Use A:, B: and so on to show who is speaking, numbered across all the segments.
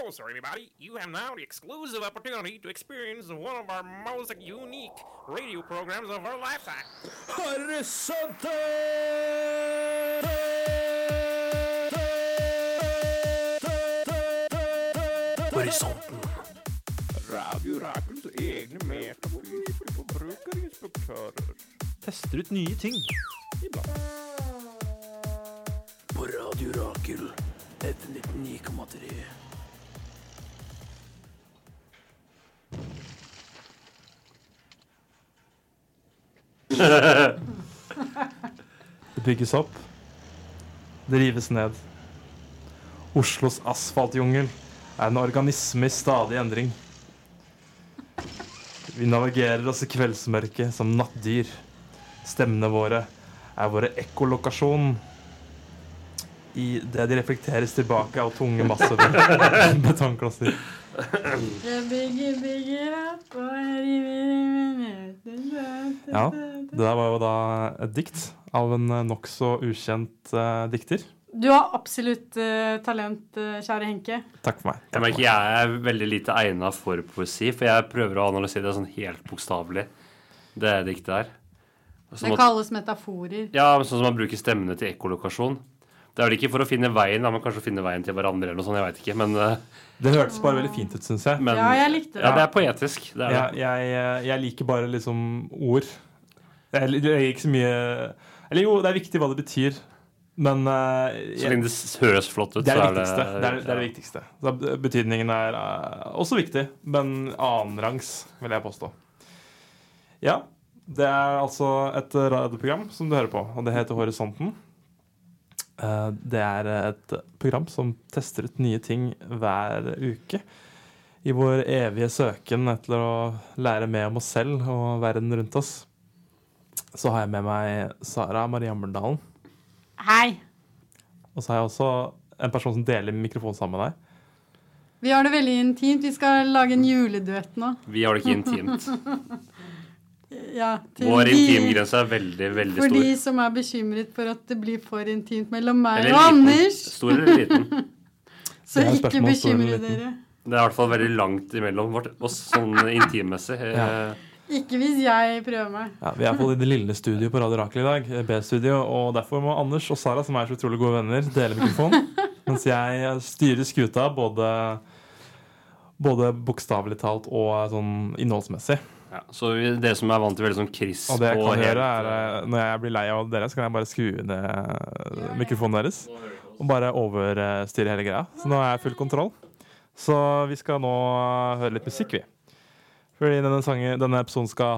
A: closer, everybody. You have now the exclusive opportunity to experience one of our most unique radio programs of our lifetime.
B: Horisonten! Horisonten.
A: Radio Rakels egne metafysiske forbrukerinspektører.
B: Tester ut nye ting.
A: Iblant.
B: På Radio Rakel, F99,3. Det bygges opp. Det rives ned. Oslos asfaltjungel er en organisme i stadig endring. Vi navigerer oss i kveldsmørket som nattdyr. Stemmene våre er våre ekkolokasjon. I det de reflekteres tilbake av tunge masse betongklosser. Ja, det der var jo da et dikt av en nok så ukjent dikter.
C: Du har absolutt talent, kjære Henke.
B: Takk for meg.
D: Jeg merker jeg er veldig lite egnet for poesi, for jeg prøver å analysere det sånn helt bokstavelig, det diktet der.
C: Det kalles metaforer.
D: Ja, sånn som man bruker stemmene til ekkolokasjon. Det er vel ikke for å finne veien, men kanskje å finne veien til hverandre eller noe sånt, jeg vet ikke, men...
B: Det hørtes bare veldig fint ut, synes jeg.
D: Men,
C: ja, jeg likte det.
D: Ja, det er poetisk. Det er det.
B: Jeg liker bare liksom ord. Jeg liker ikke så mye... Eller jo, det er viktig hva det betyr, men...
D: så lenge det høres flott ut,
B: det er
D: så
B: det viktigste. Det er det viktigste. Så betydningen er også viktig, men annenrangs, vil jeg påstå. Ja, det er altså et radioprogram som du hører på, og det heter Horisonten. Det er et program som tester ut nye ting hver uke i vår evige søken etter å lære mer om oss selv og verden rundt oss. Så har jeg med meg Sara Marie Ammerdalen.
C: Hei. Og
B: så har jeg også en person som deler mikrofon sammen med deg.
C: Vi har det veldig intimt. Vi skal lage en juleduett nå.
D: Vi har det ikke intimt.
C: Ja,
D: vår intimgrense er veldig, veldig stor.
C: For de som er bekymret for at det blir for intimt mellom meg og Anders.
D: Stor eller liten?
C: Så ikke bekymre dere.
D: Det er i hvert fall veldig langt imellom oss sånn intimmessig.
B: Ja.
C: Ikke hvis jeg prøver meg.
B: Ja, vi er på det lille studio på Radio Rakel i dag, B-studio, og derfor må Anders og Sara, som er så utrolig gode venner, dele mikrofon, mens jeg styrer skuta både bokstavelig talt og sånn innholdsmessig.
D: Ja, så det som er vant til veldig sånn krisp
B: og det jeg kan gjøre er, når jeg blir lei av dere, så kan jeg bare skru ned mikrofonen deres og bare overstyre hele greia. Så nå er jeg full kontroll. Så vi skal nå høre litt musikk, vi. Fordi denne episoden skal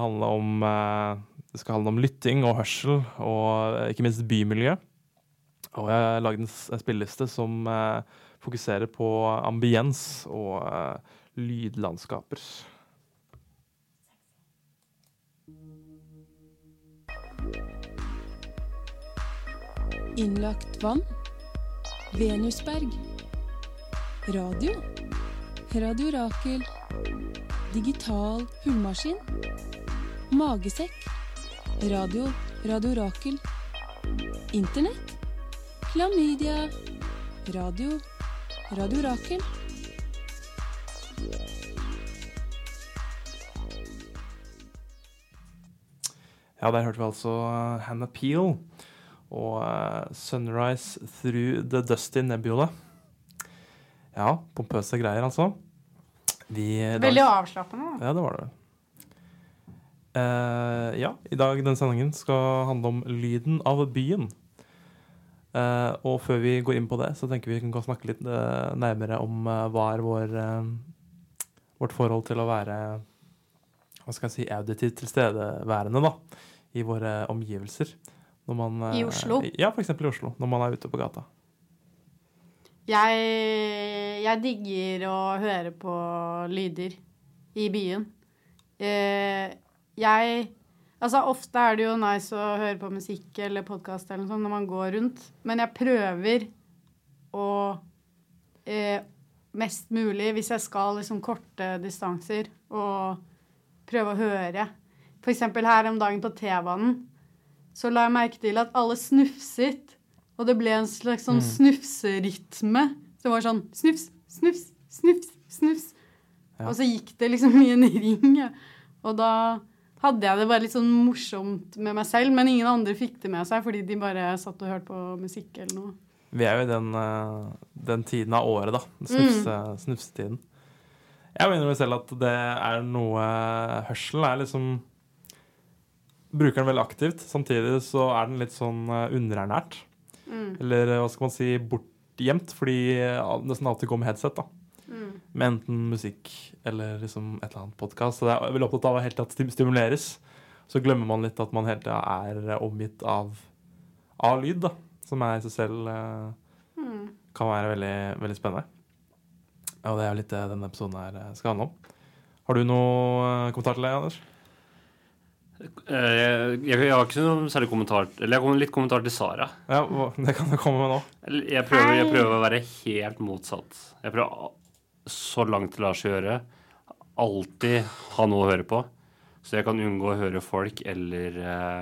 B: handle om lytting og hørsel, og ikke minst bymiljø. Og jeg har laget en spilleliste som fokuserer på ambiens og lydlandskaper.
E: Innlagt vann. Venusberg. Radio. Radio Rakel. Digital hullmaskin. Magesekk. Radio. Radio Rakel. Internett. Klamydia. Radio. Radio Rakel.
B: Ja, der hørte vi altså Hannah Peel og Sunrise Through the Dusty Nebula. Ja, pompøse greier altså.
C: Veldig avslappende.
B: Ja, det var det. Ja, i dag den sendingen skal handle om lyden av byen. Og før vi går inn på det, så tenker vi kan snakke litt nærmere om hva er vårt forhold til å være, hva skal jeg si, auditivt tilstedeværende da, i våre omgivelser. Når man,
C: I Oslo?
B: Ja, for eksempel i Oslo, når man er ute på gata.
C: Jeg digger å høre på lyder i byen. Altså ofte er det jo nice å høre på musikk eller podcast eller noe sånt når man går rundt, men jeg prøver å mest mulig, hvis jeg skal liksom korte distanser, og prøve å høre. For eksempel her om dagen på T-banen, så la jeg merke til at alle snufset, og det ble en slags sånn snufserytme. Så det var sånn snufs, snufs, snufs, snufs.
B: Ja.
C: Og så gikk det liksom i en ring, og da hadde jeg det bare litt sånn morsomt med meg selv, men ingen andre fikk det med seg, fordi de bare satt og hørte på musikk eller noe.
B: Vi er jo i den tiden av året, da. Snufsetiden. Jeg mener jo selv at det er noe hørselen er liksom bruker den veldig aktivt. Samtidig så er den litt sånn underernært. Eller hva skal man si, bortgjemt, fordi nesten alltid går med headset, da. Med enten musikk eller liksom et eller annet podcast. Så det er veldig opptatt av å helt tatt stimuleres. Så glemmer man litt at man helt tatt er omgitt av lyd, da. Som er i seg selv kan være veldig, veldig spennende. Og det er litt det denne episoden her skal handle om. Har du noe kommentar til det, Anders?
D: Jeg har ikke noe særlig kommentar. Eller jeg har litt kommentar til Sara.
B: Ja, det kan du komme med nå.
D: Jeg prøver å være helt motsatt. Jeg prøver så langt det lar seg gjøre. Alltid ha noe å høre på. Så jeg kan unngå å høre folk eller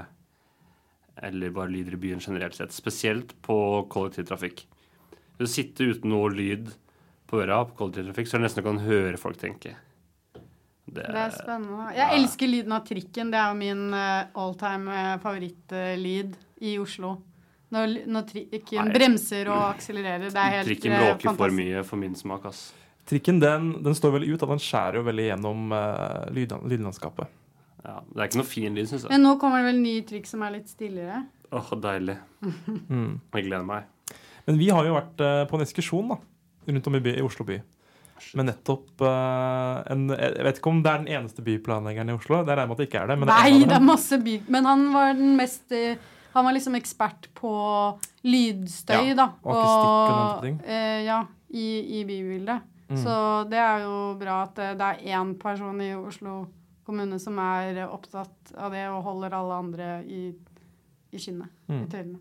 D: bare lyder i byen generelt sett. Spesielt på kollektivtrafikk. Hvis du sitter uten noe lyd på øra på kollektivtrafikk, så er det nesten du kan høre folk tenke.
C: Det er spennende. Jeg elsker lyden av trikken. Det er jo min all-time favorittlyd i Oslo. Når trikken bremser og akselererer. Det er helt
D: trikken bråker
C: fantastisk.
D: for mye for min smak, ass.
B: Trikken, den står veldig ut, at den skjærer jo veldig gjennom lydlandskapet.
D: Ja, det er ikke noe fin lyd, synes jeg.
C: Men nå kommer det vel en ny trikk som er litt stillere.
D: Deilig. Jeg gleder meg.
B: Men vi har jo vært på en ekskursjon da, rundt om i Oslo by. Men nettopp jeg vet ikke om det er den eneste byplanleggeren i Oslo. Det er med at det ikke er det. Men
C: Nei, det er masse by. Men han var den mest han var liksom ekspert på lydstøy, da.
B: Og akustikk og den ting.
C: Ja, i bybildet. Så det er jo bra at det er en person i Oslo kommune som er opptatt av det og holder alle andre i skinnet, i tøylene.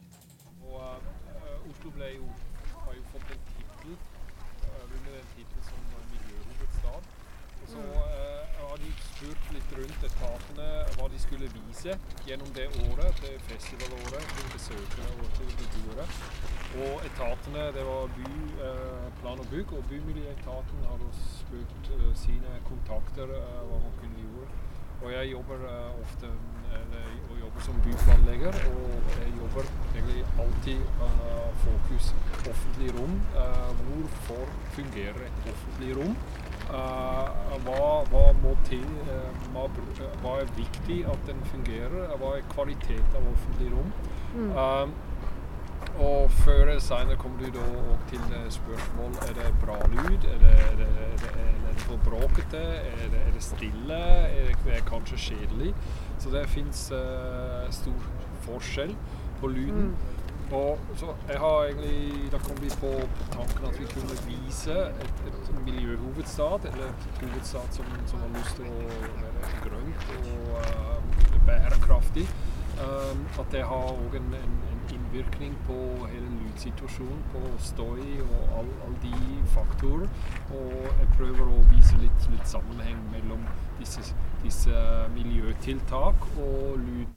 F: Og Oslo har jo fått en titel, under den titel som miljøhovedstad. Og så har de spurt litt rundt etatene hva de skulle vise gjennom det året, det festivalåret, til besøkere og til beboere. Og etatene, det var plan og bygg, og bymiljøetaten har spurt sine kontakter hva man kunne gjøre. Og jeg jobber ofte som byplanlegger, og jeg jobber egentlig alltid fokus offentlig rom. Hvorfor fungerer et offentlig rom? Hva må til? Hva er viktig at den fungerer? Hva er kvalitet av offentlig rom? Og før eller senere kommer du da til spørsmål, er det bra lyd, er det for bråkete, er det stille, er det kanskje kjedelig? Så det finnes stor forskjell på lyden. Og så jeg har egentlig, da kom vi på tanken at vi kunne vise et miljøhovedstad, eller et hovedstad som har lyst til å være grønt og bærekraftig. At det har også en innvirkning på hele lydsituasjonen, på støy og alle de faktorer. Og jeg prøver å vise litt sammenheng mellom disse miljøtiltak og lyd.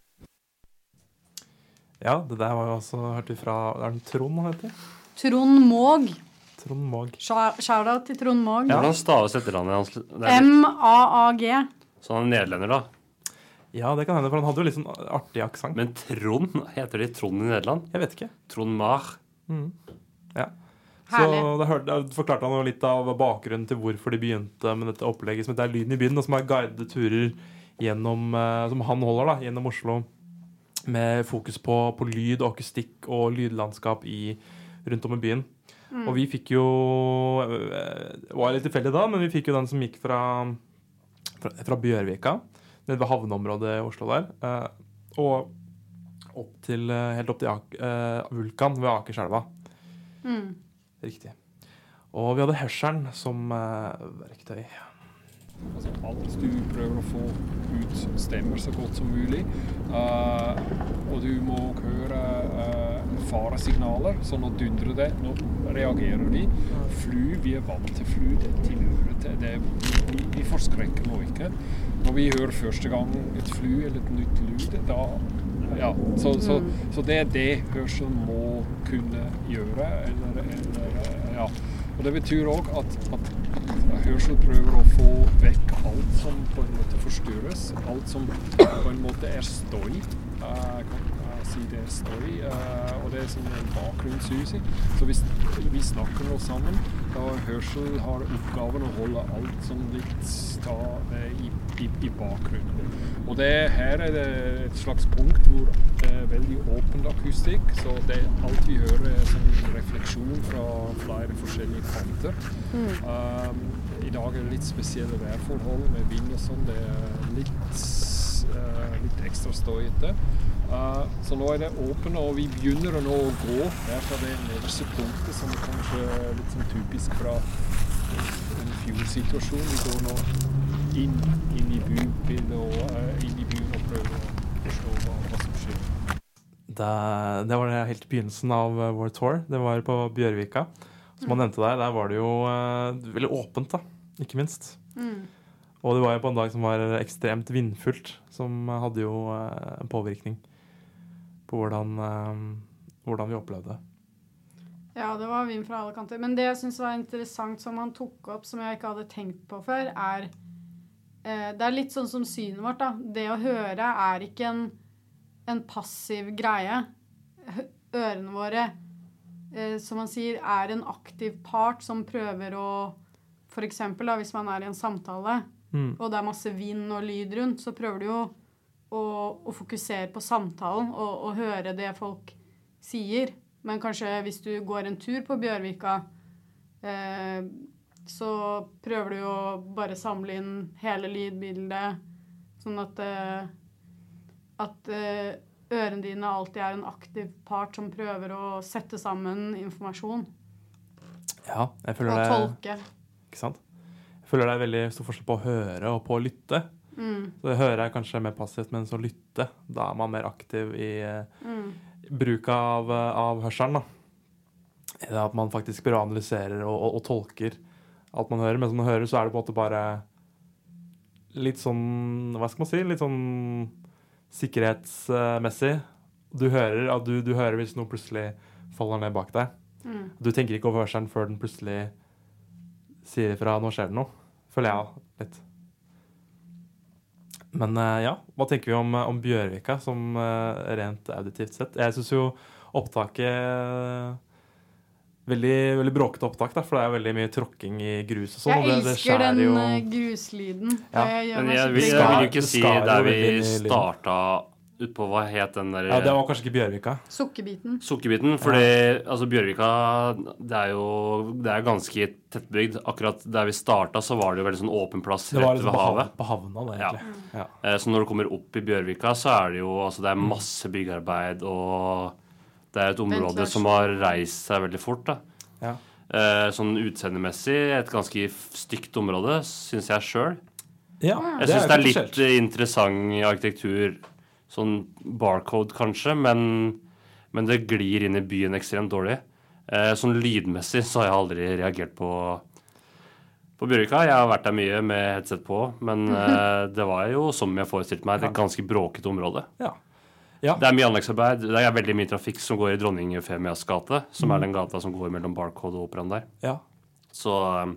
B: Ja, det der var jo også hørt ifra, er det Trond han heter?
C: Trond Måg.
B: Trond Måg.
C: Shoutout til Trond Måg.
D: Ja, han staves etternavnet hans.
C: M-A-A-G.
D: Så han er nederlender da?
B: Ja, det kan hende, for han hadde jo litt sånn artig aksent.
D: Men Trond, heter de Trond i Nederland?
B: Jeg vet ikke.
D: Trond Mar.
B: Ja.
C: Herlig.
B: Så da forklarte han jo litt av bakgrunnen til hvorfor de begynte med dette opplegget som heter Lyden i byen, og som er guidede turer gjennom, som han holder da, gjennom Oslo, med fokus på lyd og akustikk og lydlandskap rundt om i byen. Og vi fikk jo, det var litt tilfeldig da, men vi fikk jo den som gikk fra Bjørvika, nede ved havneområdet i Oslo der, og helt opp til Vulkan ved Akerselva. Riktig. Og vi hadde hørselen som verktøy.
F: Altså alt du prøver å få ut stemmer så godt som mulig, og du må høre faresignaler, så nå dundrer det, nå reagerer de. Fly, vi er vant til fly, det tilhører til det. Vi forskrekker nå ikke. Når vi hører første gang et fly eller et nytt lyd, da, ja, så det er det hørselen må kunne gjøre, eller ja. Og det betyr også at hørsel prøver å få vekk alt som på en måte forstyrres, alt som på en måte støy. Jeg kan si det støy, og det som en bakgrunnssusing. Så hvis vi snakker nå sammen, da hørsel har oppgaven å holde alt som litt i bakgrunnen. Og her det et slags punkt hvor det veldig åpen akustikk, så alt vi hører som en refleksjon fra flere forskjellige kanter. I dag det litt spesielle værforhold med vind og sånn, det litt ekstra støyete. Så nå det åpent, og vi begynner nå å gå her fra det nederste punktet, som kanskje litt sånn typisk fra en fjordsituasjon. Vi går nå inn i byen og prøver å forstå hva som skjer.
B: Det var det helt i begynnelsen av vår tour. Det var på Bjørvika. Som man nevnte der var det jo veldig åpent da, ikke minst. Og det var jo på en dag som var ekstremt vindfullt, som hadde jo en påvirkning på hvordan vi opplevde det.
C: Ja, det var vind fra alle kanter. Men det jeg synes var interessant som han tok opp, som jeg ikke hadde tenkt på før, det litt sånn som synet vårt da. Det å høre ikke en passiv greie. Ørene våre, som man sier, en aktiv part som prøver å, for eksempel da, hvis man i en samtale, og det masse vind og lyd rundt, så prøver du jo å fokusere på samtalen og høre det folk sier. Men kanskje hvis du går en tur på Bjørvika, så prøver du å bare samle inn hele lydbildet, sånn at ørene dine alltid en aktiv part som prøver å sette sammen informasjon.
B: Ja, jeg føler
C: og tolke.
B: Ikke sant? Jeg føler det veldig stor forskjell på å høre og på å lytte. Så det hører jeg kanskje mer passivt, men så lytte, da man mer aktiv i bruk av hørselen. Det at man faktisk bare analyserer og tolker alt man hører. Men som man hører, så det på en måte bare litt sånn, hva skal man si, litt sånn sikkerhetsmessig. Du hører hvis noe plutselig faller ned bak deg. Du tenker ikke over hørselen før den plutselig sier ifra, nå skjer det noe. Føler jeg litt. Men ja, hva tenker vi om Bjørvika som rent auditivt sett? Jeg synes jo opptaket veldig, veldig bråkete opptak, da, for det veldig mye tråkking i grus og sånn.
C: Jeg elsker den gruslyden.
D: Ja. Men jeg vil jo ikke si der vi startet ut på hva het den der...
B: Ja, det var kanskje ikke Bjørvika.
C: Sukkerbiten,
D: fordi altså Bjørvika, det ganske tettbygd. Akkurat der vi startet så var det jo veldig sånn åpen plass rett ved havet.
B: På havna, det egentlig.
D: Ja. Så når du kommer opp i Bjørvika, så det jo, altså det masse byggearbeid, og det et område som har reist seg veldig fort, da.
B: Ja.
D: Sånn utseendemessig, et ganske stygt område, synes jeg selv.
B: Ja,
D: jeg synes det litt interessant arkitektur, sånn barcode kanskje, men det glir inn i byen ekstremt dårlig. Sånn lydmessig så har jeg aldri reagert på Bjørvika. Jeg har vært der mye med headset på, men det var jo som jeg forestilte meg, et ganske bråket område.
B: Ja. Ja.
D: Det mye anleggsarbeid. Det veldig mye trafikk som går i Dronning Eufemias gate, som den gata som går mellom Barcode og Operaen der.
B: Ja.
D: Så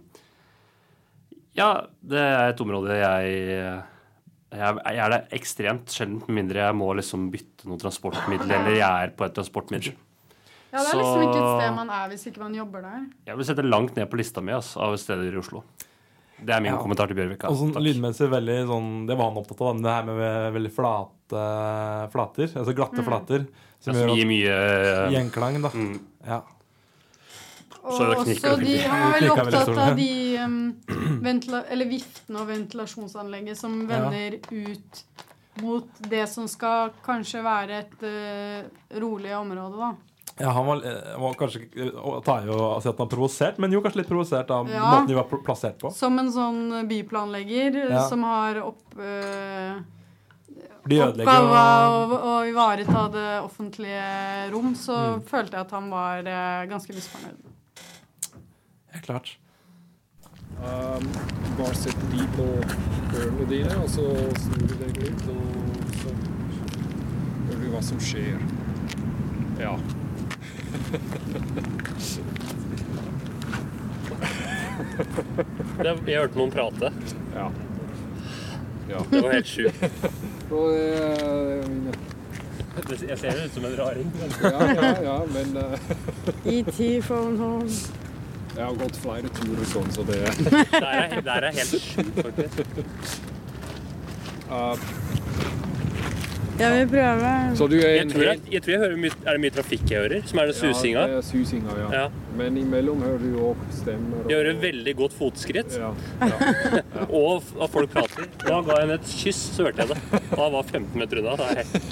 D: ja, det et område jeg det ekstremt sjeldent, mindre jeg må liksom bytte noen transportmiddel, eller jeg på et transportmiddel.
C: Ja, det liksom ikke et sted man hvis ikke man jobber der.
D: Jeg vil sette langt ned på lista mi av steder i Oslo. Det min kommentar til Bjørvika.
B: Og sånn lydmessig veldig sånn, det var han opptatt av, det her med veldig flate flater, altså glatte flater. Som
D: gir mye
B: gjenklang, da. Ja.
C: Og så han var veldig opptatt av de viftene og ventilasjonsanlegget som vender ut mot det som skal kanskje være et rolig område, da.
B: Ja, han var kanskje tar jo å si at han har provosert, men jo kanskje litt provosert av måten de var plassert på.
C: Som en sånn byplanlegger som har oppgave å ivareta det offentlige rom, så følte jeg at han var ganske misfornøyd.
B: Helt klart.
F: Bare sette de på ørene dine, og så snur du deg litt, og så hører du hva som skjer. Ja.
D: Jeg hørte noen prate.
F: Ja.
D: Det var helt sjukt.
F: Og,
D: Jeg ser det ut som en raring.
F: ja, men
C: E.T. phone home.
F: jeg har gått flere turer sånn, så det
D: Det er helt sjukt, faktisk.
C: Jeg vil prøve.
F: Så du er
D: Jeg tror jeg hører mye, er det mye trafikk jeg hører, som er det susinga.
F: Ja, det er susinga, ja.
D: Ja.
F: Men imellom hører du også stemmer.
D: Jeg hører veldig godt fotskritt,
F: Ja.
D: og at folk prater. Da ga jeg henne et kyss, så hørte jeg det. Da var 15 meter unna.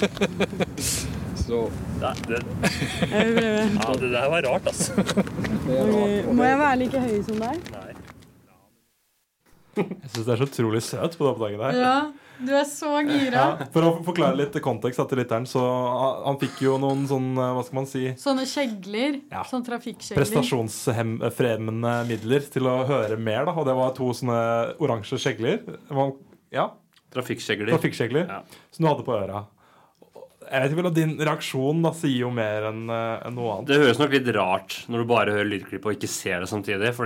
F: Så
D: Det
C: Jeg vil prøve.
D: Ja, det der var rart, altså.
F: det er rart.
C: Må jeg være like høy som deg?
D: Nei.
B: Jeg synes det er så utrolig søt på det oppdaget der.
C: Ja, du er så gira.
B: Ja, for å forklare litt kontekst til lytteren, så han fikk jo noen sånn, hva skal man si,
C: Sånne skjegler,
B: Ja.
C: sånn trafikkskjegler.
B: prestasjonsfremmende midler til å høre mer, da. Og det var 2 sånne oransje skjegler. Ja,
D: Trafikkskjegler.
B: trafikkskjegler,
D: Ja.
B: som du hadde på øra. Jeg vet ikke vel, din reaksjon da sier jo mer enn noe annet.
D: Det høres nok litt rart når du bare hører lydklipp og ikke ser det samtidig, for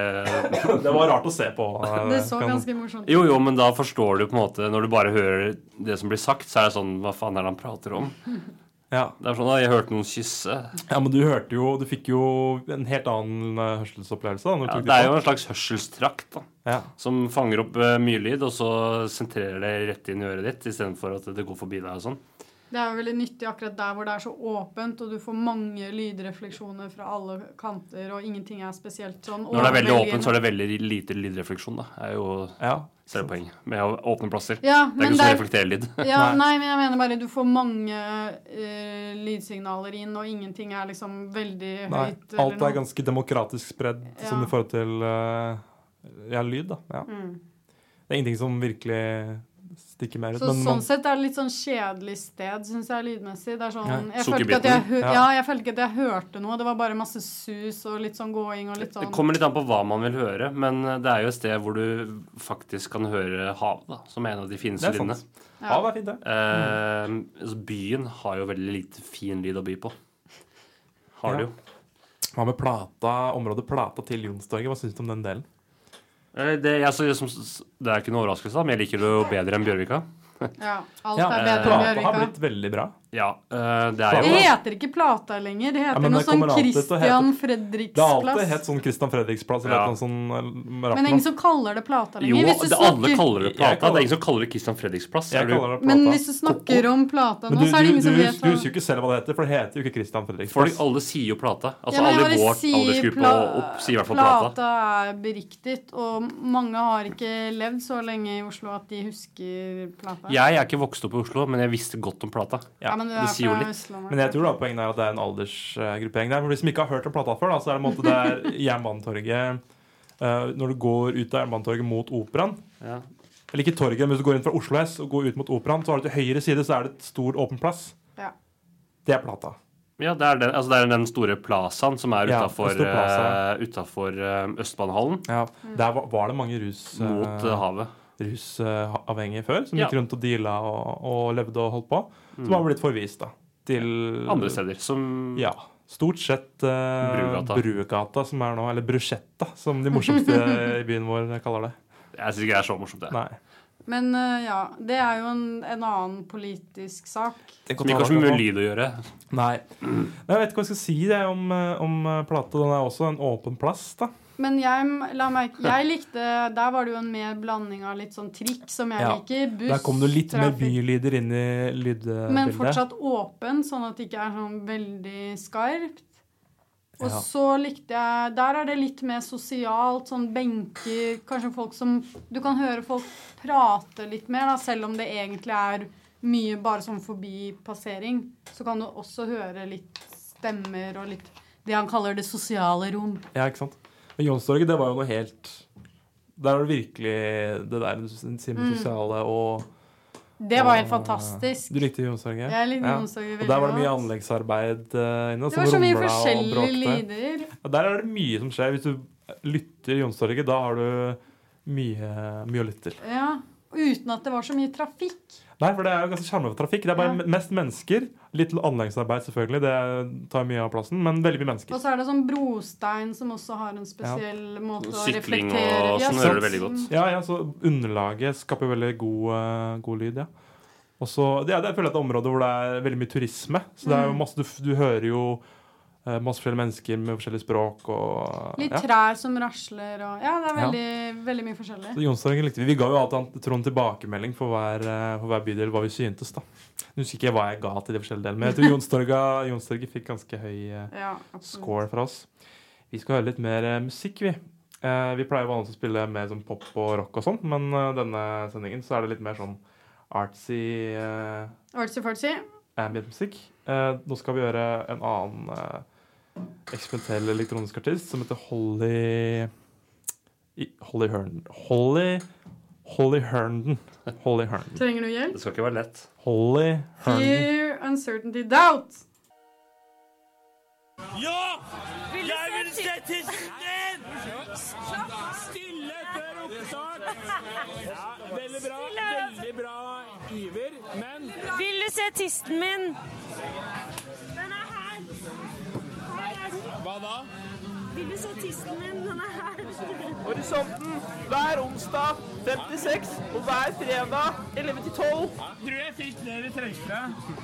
B: Det var rart å se på.
C: Det så ganske morsomt ut.
D: Jo, men da forstår du på en måte, når du bare hører det som blir sagt, så er det sånn, hva faen er det han prater om?
B: Ja.
D: Det er sånn, jeg hørte noen kysse.
B: Ja, men du fikk jo en helt annen hørselsopplevelse da, når du
D: Ja,
B: tok
D: det er
B: på.
D: jo en slags hørselstrakt da,
B: Ja.
D: som fanger opp mye lyd, og så sentrerer det rett inn i øret ditt, i stedet for at det går forbi deg og sånn.
C: Det er jo veldig nyttig akkurat der hvor det er så åpent, og du får mange lydrefleksjoner fra alle kanter, og ingenting er spesielt sånn.
D: Når det er veldig åpent, så er det veldig lite lydrefleksjon da. Det er jo
B: Ja.
D: poeng med åpne plasser.
C: Ja,
D: Det er
C: men
D: ikke sånn reflekterer lyd.
C: Ja,
B: Nei.
C: nei, men jeg mener bare du får mange lydsignaler inn, og ingenting er liksom veldig
B: Nei,
C: høyt. eller
B: alt er
C: noe.
B: ganske demokratisk spredd sånn
C: Ja.
B: i forhold til lyd da. Ja.
C: Mm.
B: Det er ingenting som virkelig stikker mer ut.
C: Så
B: Men
C: sånn sett er det litt sånn kjedelig sted, synes jeg, lydmessig. Det er sånn,
B: Ja.
C: jeg følte ikke at jeg,
B: Ja.
C: jeg følte ikke at jeg hørte noe. Det var bare masse sus og litt sånn gåing og litt
D: Det
C: sånn.
D: kommer litt an på hva man vil høre, men det er jo et sted hvor du faktisk kan høre hav, da, som er en av de fineste
B: det er
D: lydene.
B: sant. Ja, det er fint det.
D: Altså, byen har jo veldig lite fin lyd å by på. Har det
B: Ja.
D: jo.
B: Hva med området Plata til Jonstorget? Hva synes du om den delen?
D: Det er ikke noe overraskelse, men jeg liker det jo bedre enn Bjørvika.
C: Ja, alt
B: Ja,
C: er bedre enn
B: Plata har
C: Bjørvika.
B: blitt veldig bra.
D: Ja, det er
C: Det
D: jo
C: heter ikke Plata lenger. Det heter
B: men
C: noe
B: det
C: sånn
B: kommer alltid til å hete-
C: Christian
B: Det har alltid
C: Fredriksplass.
B: hett sånn Christian Fredriksplass eller
D: Ja.
B: noe sånn
C: Men ingen som kaller det Plata
D: Jo,
C: lenger. Hvis du
D: alle
C: snakker,
D: kaller det
B: Jeg
D: Plata.
B: kaller-
D: Det er ingen som kaller det Christian Fredriksplass.
B: Jeg
D: Er du-
B: kaller det Plata.
C: men hvis du snakker om Plata
B: Men
C: nå, så er det ingen som vet
B: du husker jo ikke selv hva det heter, for det heter jo ikke Christian
D: Folk,
B: Fredriksplass.
D: alle sier jo Plata. Altså
C: Ja, men jeg
D: alle i
C: bare
D: vår
C: sier
D: aldersgruppe og opp sier i hvert fall Plata.
C: Plata er beriktigt, og mange har ikke levd så lenge i Oslo at de husker Plata.
D: Jeg er ikke vokst opp i Oslo, men jeg visste godt om Plata.
C: Ja, men du er
D: det sier jo
C: fra
D: litt.
C: Østlandet.
B: Men jeg tror da poenget er at det er en aldersgruppering der. For de som ikke har hørt om Plata før, da, så er det en måte det er Jernbanetorget når du går ut av Jernbanetorget mot Operaen.
D: Ja.
B: Eller ikke torget, men hvis du går inn fra Oslo S og går ut mot Operaen, så har du til høyre side så er det et stor åpen plass.
C: Ja.
B: Det er Plata.
D: Ja, det er den store plazaen som er
B: Ja,
D: utafor
B: en stor plaza.
D: Østbanehallen
B: Ja, der var det mange
D: mot havet.
B: rusavhengige før, som
D: Ja.
B: gikk rundt og deala og levde og holdt på. Som har blitt forvist da, til
D: Andre steder, som
B: Ja, stort sett
D: Brugata.
B: Brugata, som er nå, eller Bruschetta, som de morsomste i byen vår kaller det.
D: Jeg syns ikke det er så morsomt, det.
B: Nei.
C: Men ja, det er jo en annen politisk sak.
D: Som ikke har så mye lyd å gjøre.
B: Nei. Jeg vet ikke hva jeg skal si det om Plata. Den er også en åpen plass, da.
C: Men jeg likte, der var det jo en mer blanding av litt sånn trikk som jeg
B: Ja.
C: liker, buss,
B: Der kom det litt mer
C: trafikk.
B: bylyder inn i lydbildet.
C: Men fortsatt åpen, sånn at det ikke er sånn veldig skarpt. Og
B: Ja.
C: så likte jeg, der er det litt mer sosialt, sånn benker, kanskje folk som, du kan høre folk prate litt mer, da, selv om det egentlig er mye bare sånn forbi passering, så kan du også høre litt stemmer og litt, det han kaller det sosiale rom.
B: Ja, ikke sant? Men Jonstorget, det var jo noe helt Der er det virkelig det der du sier med sosiale og
C: Det var helt fantastisk.
B: Du likte Jonstorget?
C: Jeg likte
B: Ja.
C: Jonstorget
B: Og
C: veldig
B: der var det mye
C: godt.
B: anleggsarbeid inne.
C: Det
B: som
C: var så mye
B: rumla og
C: forskjellige
B: bråkte.
C: lyder.
B: Ja, der er det mye som skjer. Hvis du lytter Jonstorget, da har du mye å lytte til.
C: Ja, uten at det var så mye trafikk.
B: Nei, for det er jo ganske sjarmerende for trafikk. Det er bare mest mennesker. Litt anleggsarbeid, selvfølgelig. Det tar mye av plassen, men veldig mye mennesker.
C: Og så er det sånn brostein som også har en spesiell måte å
D: Sykling
C: reflektere.
D: og sånn gjør det veldig godt.
B: Ja, så underlaget skaper veldig god lyd, ja. Og så, det er føler jeg et område hvor det er veldig mye turisme. Så det er jo masse, du hører jo masse forskjellige mennesker med forskjellige språk og
C: Litt trær som rasler og ja, det er veldig mye forskjellig.
B: Så Youngstorget likte vi. Vi ga jo alltid Trond tilbakemelding for hver bydel hva vi syntes da. Nå husker ikke jeg hva jeg ga til de forskjellige delene, men jeg tror Youngstorget fikk ganske høy score fra oss. Vi skal høre litt mer musikk, vi. Vi pleier vanligvis å spille mer sånn pop og rock og sånn, men denne sendingen så er det litt mer sånn artsy ambient musikk. Nå skal vi gjøre en annen eksperimentell elektronisk artist som heter Holly Herndon.
C: Trenger du hjelp?
D: Det skal ikke være lett.
B: Holly Herndon.
C: Fear, uncertainty, doubt.
G: Ja! Jeg vil se tissen din! Stille før oppstart. Ja, veldig bra iver, men... Vil du se tissen min? Den er her. Hva da? Vil du se tissen min? Den er her.
H: Horisonten hver onsdag 56 og hver fredag 11-12.
G: Tror jeg fikk ned i trøystra.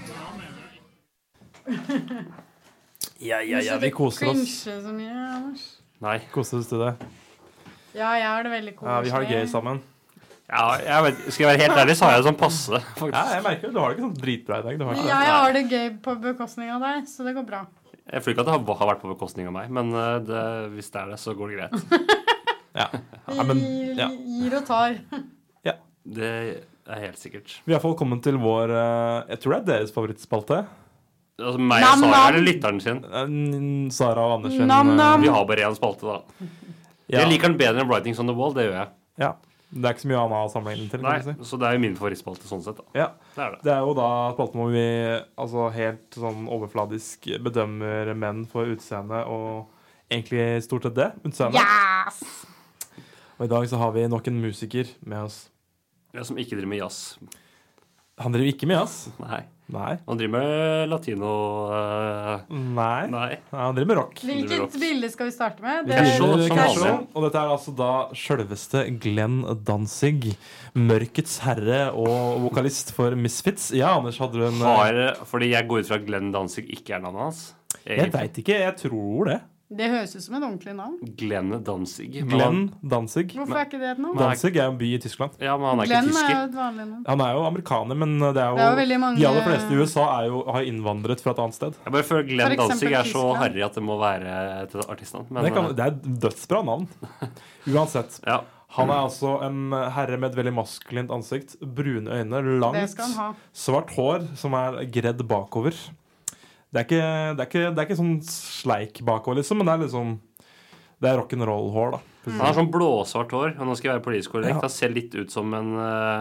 B: Ja, vi koser oss.
C: Cringe så mye, Anders.
D: Nei.
B: Koser oss til det.
C: Ja, jeg har det veldig koselig.
B: Ja, vi har det gøy sammen.
D: Ja, skal jeg være helt ærlig, så har jeg det sånn passe, faktisk.
B: Ja, jeg merker det. Du har det ikke sånn dritbra i dag.
C: Jeg har det gøy på bekostning av deg, så det går bra.
D: Jeg føler ikke at det har vært på bekostning av meg, men hvis det er det, så går det greit.
C: Vi gir og tar.
B: Ja.
D: Det er helt sikkert.
B: Vi har i hvert fall kommet til vår, jeg tror det er deres favorittspalte.
D: Altså meg og Sara, eller lytteren sin?
B: Sara og Anders sin.
D: Vi har bare en spalte, da. Jeg liker den bedre enn Writings on the Wall, det gjør jeg.
B: Ja, det er ikke så mye annet å sammenligne til.
D: Nei, så det er jo min favorittspalte sånn sett, da.
B: Ja,
D: det
B: er jo da spalten hvor vi helt sånn overfladisk bedømmer menn for utseende, og egentlig stort sett det, utseende.
C: Yes!
B: Og i dag så har vi nok en musiker med oss.
D: Ja, som ikke driver med jazz.
B: Han driver ikke med jazz?
D: Nei.
B: Nei.
D: Han driver med latino...
B: Nei. Han driver med rock.
C: Hvilket bilde skal vi starte med?
B: Og dette er altså da selveste Glenn Danzig, mørkets herre og vokalist for Misfits. Ja, Anders, hadde du en...
D: Fordi jeg går ut fra at Glenn Danzig ikke er navnet hans.
B: Jeg vet ikke, jeg tror det.
C: Det høres ut som et ordentlig navn.
D: Glenn Danzig.
B: Glenn Danzig.
C: Hvorfor er ikke det et navn?
B: Danzig er en by i Tyskland.
D: Ja, men han er
C: Glenn
D: ikke tysker.
C: Er jo et vanlig navn.
B: Han er jo amerikaner, men det er jo
C: veldig mange...
B: De aller fleste i USA har innvandret fra et annet sted.
D: Jeg bare føler Glenn Danzig er så harry at det må være et artistnavn.
B: Det er et dødsbra navn. Uansett.
D: Ja.
B: Han er altså en herre med et veldig maskulint ansikt, brune øyne, langt, svart hår som er gredd bakover. Det er ikke sånn sleik bakover, liksom, men det er liksom... Det er rock'n'roll-hår, da.
D: Han har sånn blåsvart hår, og nå skal jeg være politisk korrekt. Han ser litt ut som en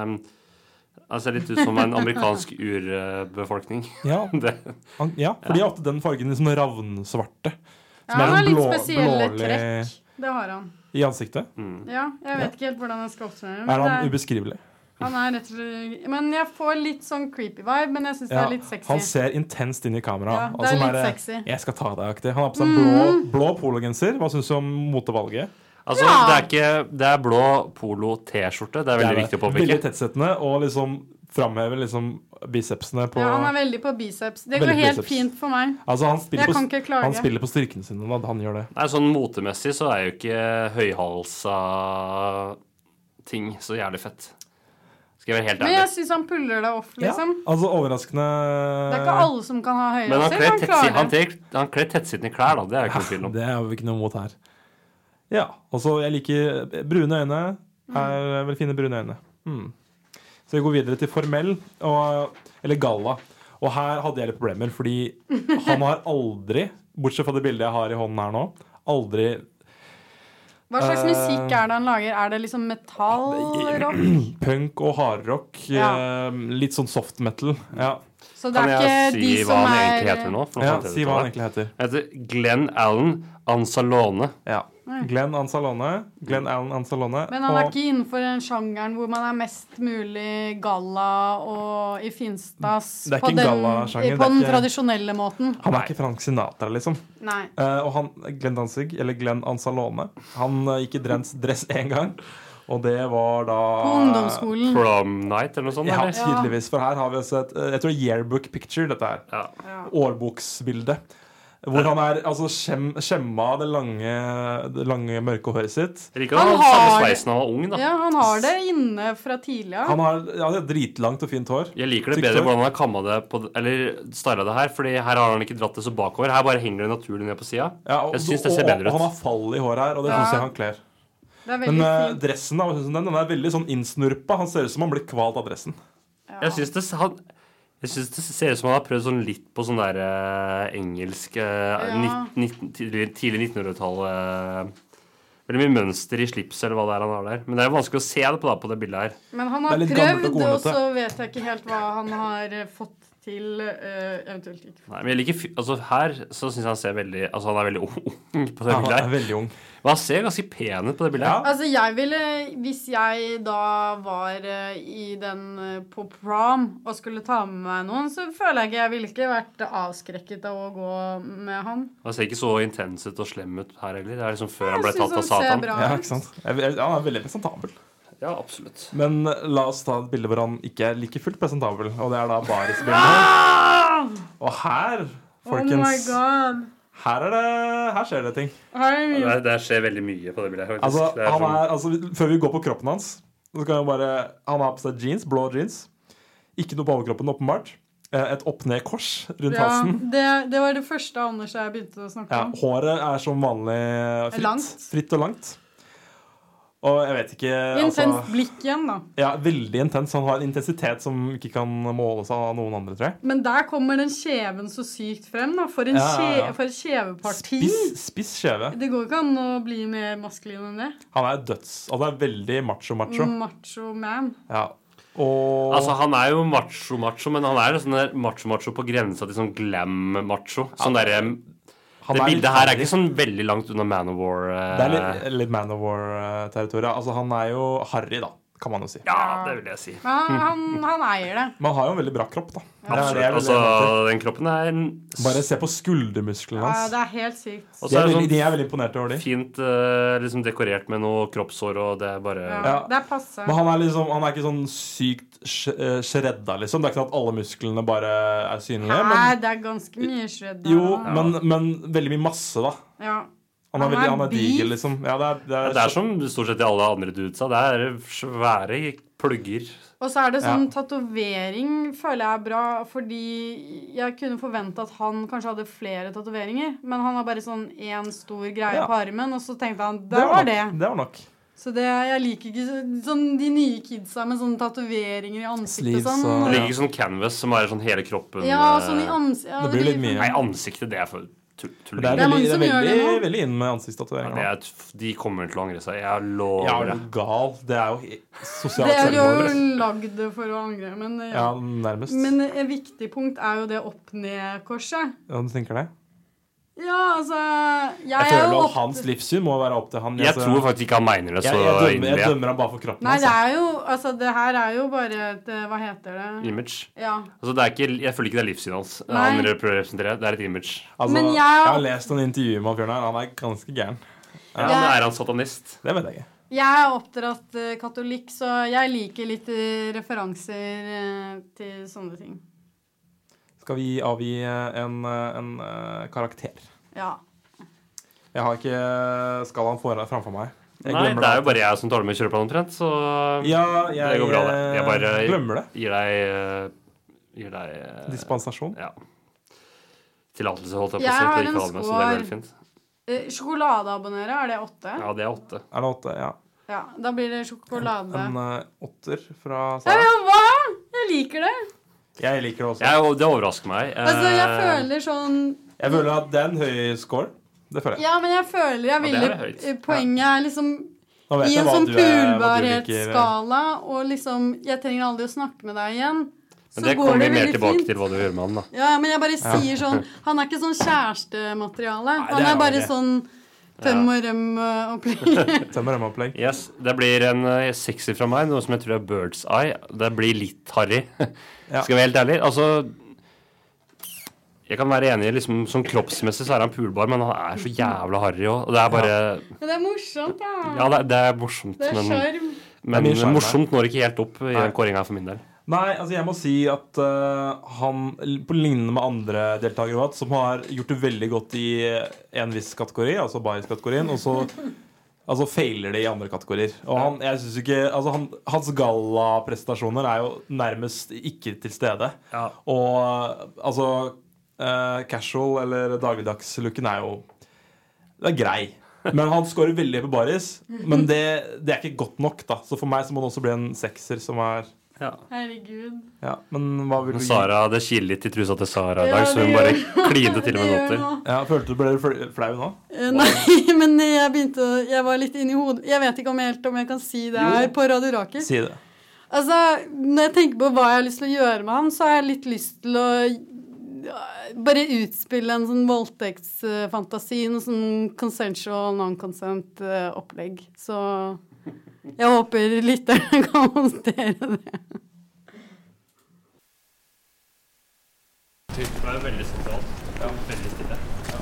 D: amerikansk urbefolkning.
B: Ja, for de har ofte den fargen liksom ravnsvarte.
C: Ja, han har litt spesielle trekk. Det har han.
B: I ansiktet?
C: Ja, jeg vet ikke helt hvordan jeg skal oppsummere.
B: Er han ubeskrivelig?
C: Han er rett og slett... Men jeg får litt sånn creepy vibe, men jeg synes det er litt sexy.
B: Han ser intenst inn i kamera.
C: Ja, det er litt sexy.
B: Jeg skal ta deg-aktig. Han har på seg blå pologenser. Hva synes du om motevalget?
D: Altså, det er blå polo-t-skjorte. Det er veldig viktig å påpeke.
B: Veldig tettsettende, og liksom fremhever liksom bicepsene på...
C: Ja, han er veldig på biceps. Det går helt fint for meg.
B: Altså,
C: kan ikke klage.
B: Han spiller på styrkene sine når han gjør det.
D: Nei, sånn motemessig så er jo ikke høyhalsa ting så jævlig fett. Skal jeg være helt ærlig.
C: Men jeg synes han puller det off, liksom.
B: Ja, altså overraskende...
C: Det er ikke alle som kan ha høyhalser.
D: Men han kler tettsittende klær, da. Det er jo ikke noe tvil om.
B: Det er jo ikke noe mot her. Ja, altså jeg liker brune øyne. Er vel fine brune øyne. Så vi går videre til formell, eller galla. Og her hadde jeg litt problemer, fordi han har aldri, bortsett fra det bildet jeg har i hånden her nå, aldri...
C: Hva slags musikk er det han lager? Er det liksom metallrock?
B: Punk og hardrock. Litt sånn soft metal. Ja.
C: Så det er ikke de som
D: han egentlig heter nå?
B: Ja, si hva han egentlig heter.
D: Han heter Glenn Allen Anzalone.
B: Ja. Glenn Anzalone. Glenn Allen Anzalone.
C: Men han er ikke innenfor den sjangeren hvor man er mest mulig galla og i finstas
B: Det er
C: på
B: ikke en gallasjanger,
C: på den
B: det er ikke-
C: tradisjonelle måten.
B: Han er ikke Frank Sinatra, liksom.
C: Nei.
B: Og han, Glenn Danzig, eller Glenn Anzalone, han gikk i dress én gang. Og det var da
C: På ungdomsskolen.
D: Prom night eller noe sånt?
B: Ja,
D: eller?
B: tydeligvis. For her har vi også et jeg tror yearbook picture, dette her.
D: Ja.
B: Årboksbilde. Hvor han er altså skjemma det lange mørke håret sitt.
D: Jeg liker at han har samme sveisen han var ung, da.
C: Ja, han har det inne fra tidligere.
B: Han har det er dritlangt og fint hår.
D: Jeg liker det
B: Tykt
D: bedre
B: hår.
D: hvordan han har kammet det på, eller stylet det her, fordi her har han ikke dratt det så bakover. Her bare henger det naturlig ned på siden.
B: Ja,
D: Jeg synes det ser bedre ut.
B: Og han har fall i håret her, og det synes jeg han kler.
C: Det er veldig
B: Men
C: fint.
B: dressen da, hva synes du om den er veldig sånn innsnurpa. Han ser ut som han blir kvalt av dressen.
D: Jeg synes det ser ut som han har prøvd sånn litt på sånn der engelsk tidlig 1900-tall veldig mye mønster i slips eller hva det er han har der. Men det er jo vanskelig å se det på det bildet her.
C: Men han
B: Det
C: har
B: er litt gammelt og
C: prøvd, og
B: kornete.
C: så vet jeg ikke helt hva han har fått til, eventuelt ikke.
D: Nei, men jeg liker altså her så synes jeg han ser veldig altså han er veldig ung på det
B: Han
D: bildet
B: er
D: her.
B: veldig ung.
D: Men han ser ganske pen ut på det bildet her.
C: Altså, jeg ville, hvis jeg da var i den på prom og skulle ta med meg noen, så føler jeg ikke, jeg ville ikke vært avskrekket av å gå med han.
D: Han ser ikke så intens ut og slem ut her heller. Det er liksom før han
C: Jeg
D: ble
C: synes
D: tatt av
C: han ser
D: Satan.
C: bra
B: Ja,
C: ut.
B: ikke sant? Han er veldig presentabel.
D: Ja, absolutt.
B: Men la oss ta et bilde hvor han ikke er like fullt presentabel. Og det er da barisbildet. Og her, folkens,
C: Oh my god.
B: her skjer det ting.
C: Her er mye.
D: Det skjer veldig mye på det bildet her, faktisk.
B: Altså,
D: Det er sånn-
B: før vi går på kroppen hans, så kan vi bare han har på seg jeans, blå jeans. Ikke noe på overkroppen, åpenbart. Et opp-ned-kors rundt
C: Ja,
B: halsen.
C: det var det første Anders jeg begynte å snakke
B: Ja,
C: om.
B: håret er som vanlig fritt.
C: Langt.
B: Fritt og langt. Og jeg vet ikke
C: Intenst blikk igjen, da.
B: Ja, veldig intens. Han har en intensitet som ikke kan måles av noen andre, tror jeg.
C: Men der kommer den kjeven så sykt frem, da. For, for et kjeveparti.
B: Spiss skjeve.
C: Det går ikke an å bli mer maskulin enn det.
B: Han er altså er veldig macho.
C: Macho man.
B: Ja. Og
D: Altså, han er jo macho, men han er jo sånn der macho på grensa til sånn glam-macho. Sånn derre
B: han
D: Det
B: er
D: bildet
B: litt
D: her er
B: harry.
D: ikke sånn veldig langt unna Man of War.
B: Det er litt Man of War-territoriet. Altså, han er jo harry, da, kan man jo si.
D: Ja, det vil jeg si.
C: Men han eier det.
B: Men han har jo en veldig bra kropp, da. Det er det
D: Absolutt.
B: jeg vil
D: Altså,
B: nevne.
D: den kroppen er
B: Bare se på skuldermusklene
C: Ja,
B: hans.
C: det er helt sykt.
D: Og
B: De
D: så
B: er
D: er det
B: veldig, de
D: sånn
B: er veldig imponert over de.
D: fint liksom dekorert med noe kroppshår, og det er bare
C: Ja, det er passe.
B: Men han er ikke sånn sykt shredda, liksom. Det er ikke sånn at alle musklene bare er synlige.
C: Nei,
B: Men,
C: det er ganske mye shred.
B: jo, men veldig mye masse, da.
C: Ja.
B: Han er
C: Han er
B: diger,
C: beef.
B: liksom. Ja,
D: Det er som stort sett i alle andre dudesa. Det er svære plugger.
C: Og så er det sånn
B: Ja.
C: tatovering, føler jeg er bra, fordi jeg kunne forvente at han kanskje hadde flere tatoveringer, men han har bare sånn én stor greie
B: Ja.
C: på armen, og så tenkte han det var det.
B: Det var nok.
C: Så jeg liker ikke sånn de nye kidsa med sånne tatoveringer i ansiktet
B: Sleeves
C: og sånn.
B: og-
D: Det ligger ikke sånn canvas som er sånn hele kroppen.
C: Ja, sånn i ansiktet. Ja,
B: Det blir litt mye.
D: Nei, ansiktet, det er for tulling.
B: Det er
C: Det er mange
B: veldig,
C: som gjør det
B: veldig,
C: nå.
B: veldig inn med ansiktstatoveringer.
D: De kommer til å angre seg. Jeg
B: Ja,
D: lover
B: er
D: det.
B: du gal? Det er jo sosialt
C: Det er jo
B: selvmord.
C: lagd for å angre, men,
B: Ja, nærmest.
C: men et viktig punkt er jo det opp-ned-korset.
B: Ja, du tenker det?
C: Ja, altså
B: Jeg
C: er jo
B: føler at
C: opp-
B: hans livssyn må være opp til han.
D: Jeg
B: Altså,
D: tror faktisk ikke han mener det så
B: jeg
D: inderlig.
B: dømmer han bare for kroppen
C: Nei,
B: hans.
C: det er jo Altså, det her er jo bare et Hva heter det?
D: Image.
C: Ja.
D: Altså, det er ikke, jeg føler ikke det er livssynet hans.
C: Nei.
D: Han prøver å representere. Det er et image.
B: Altså,
C: Men jeg-
B: jeg har lest noen intervjuer med Bjørn her. Han er ganske gæren.
D: Ja,
C: Jeg-
D: Er han satanist?
B: Det vet jeg ikke.
C: Jeg er oppdratt katolikk, så jeg liker litt referanser til sånne ting.
B: Skal vi avgi en karakter?
C: Ja.
B: Jeg har ikke skalaen framfor meg. Jeg
D: Nei,
B: glemmer
D: det er jo
B: alltid.
D: bare jeg som tar det med kjøreplanen omtrent, så
B: Ja,
D: det går bra, det. Jeg bare
B: glemmer det.
D: gir deg
B: Dispensasjon.
D: Ja. Tillatelse, holdt jeg på
C: Jeg
D: å si.
C: har
D: til
C: en
D: ikke å ha det med, så det er veldig
C: score.
D: fint.
C: Sjokoladeabonnere, er det 8?
D: Ja, det er 8.
B: Er det 8? Ja.
C: Ja, da blir det sjokolade.
B: En 8 fra
C: Ja,
B: Sara.
C: men hva? Jeg liker det.
B: Jeg liker det også.
D: Det overrasker meg.
C: Altså, jeg føler sånn
B: Jeg føler at det er en høy score. Det føler jeg.
C: Ja, men jeg føler jeg
D: det
C: ville
D: er høyt.
C: Poenget er liksom
B: Nå vet
C: i
B: jeg
C: en
B: hva
C: sånn
B: du liker.
C: pulbarhetsskala, og liksom Jeg trenger aldri å snakke med deg igjen.
D: Men det kommer vi mer tilbake til hva du gjør med han, da.
C: Ja, men jeg bare sier sånn Han er ikke sånn kjærestemateriale.
B: Nei, det
C: Han
B: er
C: er bare
B: han ikke.
C: sånn Tøm og røm-opplegg.
B: Tøm og røm-opplegg.
D: Yes, det blir en 60 fra meg, noe som jeg tror er Bird's Eye. Det blir litt harry, skal vi være helt ærlig. Altså, jeg kan være enig, liksom, som kroppsmessig så er han pulbar, men han er så jævla harry også. Og det er bare...
C: Men det er morsomt, ja.
D: Ja, det er morsomt.
C: Det er skjerm.
D: Men morsomt når ikke helt opp i den kåringen her for min del.
B: Nei, altså jeg må si at han, på lignende med andre deltakere, som har gjort det veldig godt i en viss kategori, altså Baris-kategorien, og så altså feiler det i andre kategorier. Og han, jeg synes ikke, altså hans gala-prestasjoner er jo nærmest ikke til stede. Ja. Og altså casual eller dagligdags-looken er jo det er grei. Men han scorer veldig på Baris, men det er ikke godt nok da. Så for meg så må det også bli en 6er som er
C: Herregud.
B: Ja, men hva vil du gi?
D: Sara, det kiler litt i trusa til Sara i dag, så hun bare klinte til med noter.
B: Ja, følte du ble flau nå?
C: Nei, men jeg var litt inne i hodet. Jeg vet ikke om jeg kan si det her på Radio Rakel.
B: Si det.
C: Altså, når jeg tenker på hva jeg har lyst til å gjøre med han, så har jeg litt lyst til å bare utspille en sånn voldtektsfantasi, noe sånn consensual, non-consent opplegg. Så jeg håper lytterne kan håndtere det.
D: Det er veldig sentralt. Ja, veldig stille. Ja.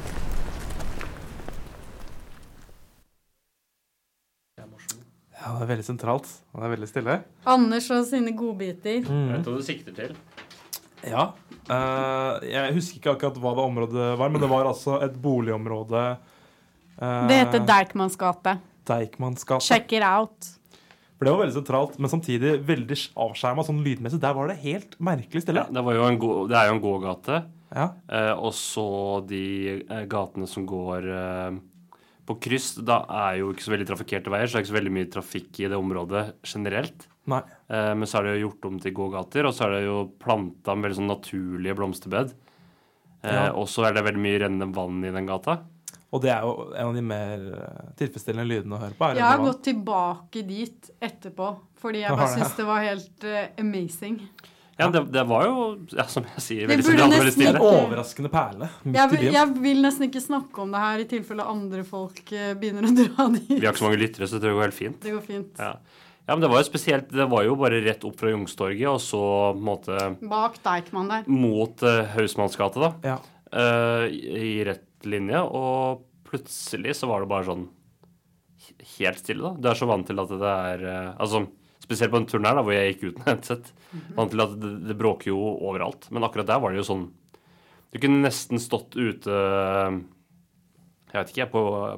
B: Ja, det er veldig sentralt. Og det er veldig stille.
C: Anders og sine godbiter.
D: Jeg vet hva du sikter til.
B: Ja. Jeg husker ikke akkurat hva det området var, men det var altså et boligområde.
C: Det heter Deichmans gate.
B: Deichmans gate.
C: Check it out.
B: For det var veldig sentralt, men samtidig veldig avskjermet sånn lydmessig. Der var det helt merkelig stille.
D: Ja, det er jo en gågate.
B: Ja.
D: Og så de gatene som går på kryss, da er jo ikke så veldig trafikkerte veier, så det er ikke så veldig mye trafikk i det området generelt.
B: Nei.
D: Men så er det jo gjort om til gågater, og så er det jo plantet med veldig sånn naturlige blomsterbed. Og så er det veldig mye rennende vann i den gata.
B: Og det er jo en av de mer tilfredsstillende lydene å høre på.
C: Jeg har gått tilbake dit etterpå, fordi jeg bare synes det var helt amazing.
D: Ja, det var jo, som jeg sier,
C: veldig sentralt, veldig stille.
B: En overraskende perle.
C: Jeg vil nesten ikke snakke om det her i tilfelle andre folk begynner å dra dit.
D: Vi har ikke så mange lyttere, så det går helt fint.
C: Det går fint.
D: Ja, men det var jo spesielt, det var jo bare rett opp fra Youngstorget, og så på en måte...
C: Bak Deichman der.
D: Mot Hausmannsgate da.
B: Ja.
D: I rett linje, og plutselig så var det bare sånn helt stille da. Du er så vant til at det er, altså spesielt på en turen her da, hvor jeg gikk uten headset, vant til at det bråker jo overalt. Men akkurat der var det jo sånn, du kunne nesten stått ute, jeg vet ikke,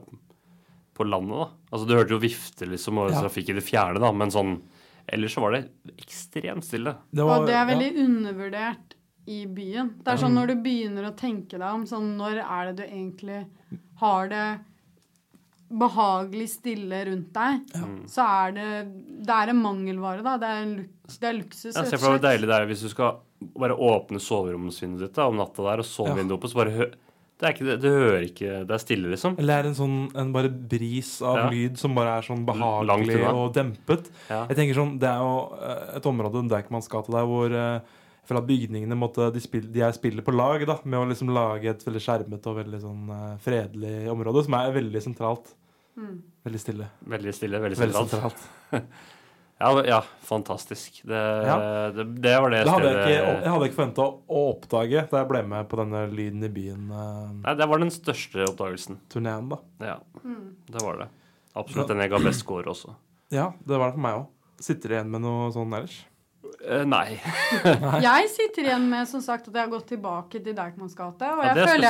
D: på landet da. Altså du hørte jo vifte liksom, og trafikk i det fjerne da, men sånn, ellers så var det ekstremt stille.
C: Og det er veldig undervurdert i byen. Det er sånn når du begynner å tenke deg om, sånn når er det du egentlig har det behagelig stille rundt deg, så er det er en mangelvare da, det er luksus.
D: Jeg ser for deg hvor deilig det er hvis du skal bare åpne soveromsvinduet ditt da, om natta der, og sovevinduet oppe, så bare det hører ikke, det er stille liksom.
B: Eller en bare bris av lyd som bare er sånn behagelig og dempet. Jeg tenker sånn, det er jo et område, Deichmans gate der, hvor jeg føler at bygningene de spiller på lag da, med å liksom lage et veldig skjermet og veldig sånn fredelig område, som er veldig sentralt. Veldig stille.
D: Veldig stille, veldig sentralt. Ja, fantastisk. Det var det stedet...
B: Jeg hadde ikke forventet å oppdage da jeg ble med på denne lyden i byen.
D: Nei, det var den største oppdagelsen.
B: Turneen da.
D: Ja, det var det. Absolutt den jeg ga best score også.
B: Ja, det var det for meg også. Sitter du igjen med noe sånn ellers?
D: Nei.
C: Jeg sitter igjen med, som sagt, at jeg har gått tilbake til Deichmans gate, og jeg føler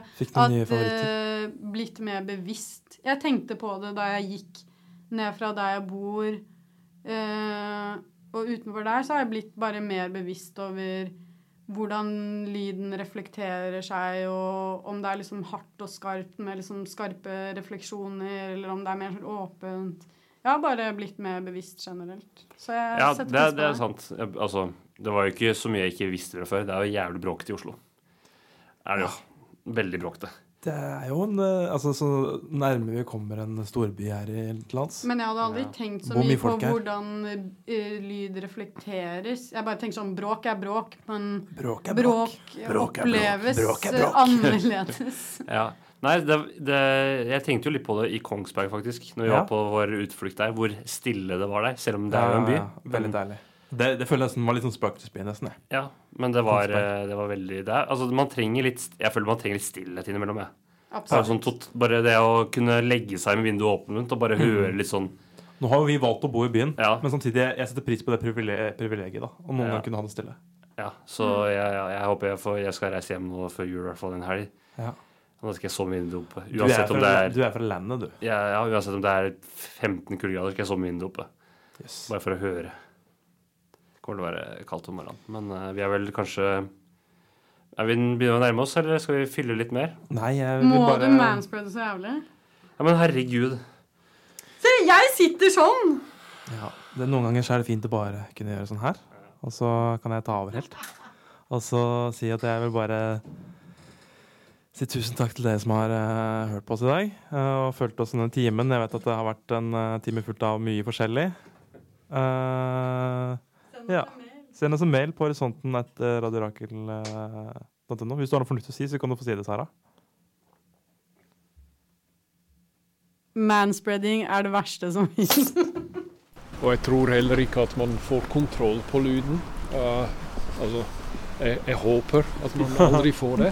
C: at blitt mer bevisst. Jeg tenkte på det da jeg gikk ned fra der jeg bor, og utenfor der så har jeg blitt bare mer bevisst over hvordan lyden reflekterer seg, og om det er liksom hardt og skarpt med liksom skarpe refleksjoner, eller om det er mer sånn åpent. Jeg har bare blitt mer bevisst generelt. Så jeg setter pris på
D: det er sant. Altså, det var jo ikke så mye jeg ikke visste fra før. Det er jo jævlig bråkete i Oslo. Er det jo. Veldig bråkete.
B: Det er jo så nærme vi kommer en storby her i lands.
C: Men jeg hadde aldri tenkt så mye på hvordan lyd reflekteres. Jeg bare tenker sånn, bråk er bråk, men bråk oppleves annerledes.
D: Ja. Nei, jeg tenkte jo litt på det i Kongsberg, faktisk, når vi var på vår utflukt der, hvor stille det var der, selv om det er jo en by.
B: Ja, veldig deilig. Det føler jeg nesten var litt sånn spøkelsesby, nesten.
D: Ja, men det var veldig det. Altså, man trenger litt, jeg føler man trenger litt stillhet innimellom, Absolutt. Sånn, bare det å kunne legge seg med vinduet åpent og bare høre litt sånn.
B: Nå har jo vi valgt å bo i byen, men samtidig jeg setter pris på det privilegiet, da. Og noen ganger kunne ha det stille.
D: Ja, så jeg håper jeg skal reise hjem nå før jul, i hvert fall en helg.
B: Ja.
D: Nå skal jeg sove med vinduet oppe.
B: Du er fra landet, du.
D: Ja, uansett om det er 15 kuldegrader, skal jeg sove med vinduet oppe.
B: Yes.
D: Bare for å høre. Det kommer til å være kaldt om morgenen. Men vi er vel kanskje... Er vi begynner å nærme oss, eller skal vi fylle litt mer?
B: Nei, jeg vil
C: bare... Må du manspreade så jævlig?
D: Ja, men herregud.
C: Se, jeg sitter sånn!
B: Ja, noen ganger så er det fint å bare kunne gjøre sånn her. Og så kan jeg ta over helt. Og så si at jeg vil bare... Si tusen takk til dere som har hørt på oss i dag og fulgt oss denne timen. Jeg vet at det har vært en time fullt av mye forskjellig. Send oss en mail på horisonten@radiorakel.no. Hvis du har noe fornuftig å si, så kan du få si det, Sara.
C: Manspreading er det verste som finnes.
F: Og jeg tror heller ikke at man får kontroll på lyden. Altså... Jeg håper at man aldri får det.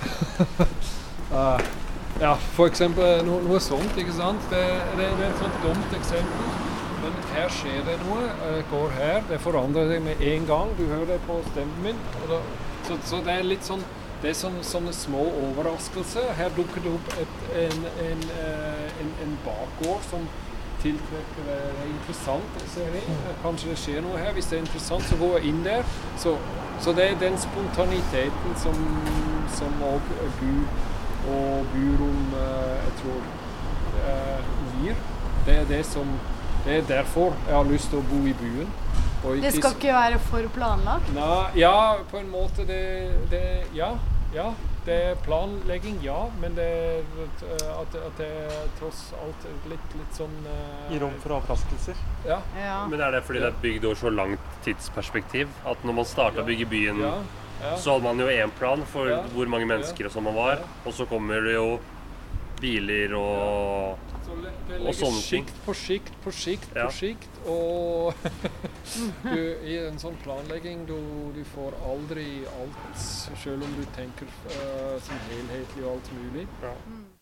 F: Ja, for eksempel noe sånt, ikke sant? Det er et sånt dumt eksempel. Men her skjer det noe. Går her, det forandrer seg med en gang. Du hører det på stemmen min. Så det er litt sånn, det er sånne små overraskelser. Her dukker det opp en bakgård som tiltrekker det interessant, ser jeg. Kanskje det skjer noe her. Hvis det er interessant, så går jeg inn der. Så det er den spontaniteten som også byrom, jeg tror, gir. Det er derfor jeg har lyst til å bo i byen.
C: Det skal ikke være for planlagt?
F: Ja, på en måte ja. Det er planlegging, ja, men det er at det er tross alt litt sånn...
B: I rom for overraskelser.
F: Ja.
D: Men er det fordi det er bygd over så langt tidsperspektiv? At når man startet å bygge byen, så hadde man jo en plan for hvor mange mennesker som man var, og så kommer det jo biler og sånne ting.
F: På skikt, og i en sånn planlegging du får aldri alt, selv om du tenker som helhetlig og alt mulig.
B: Ja.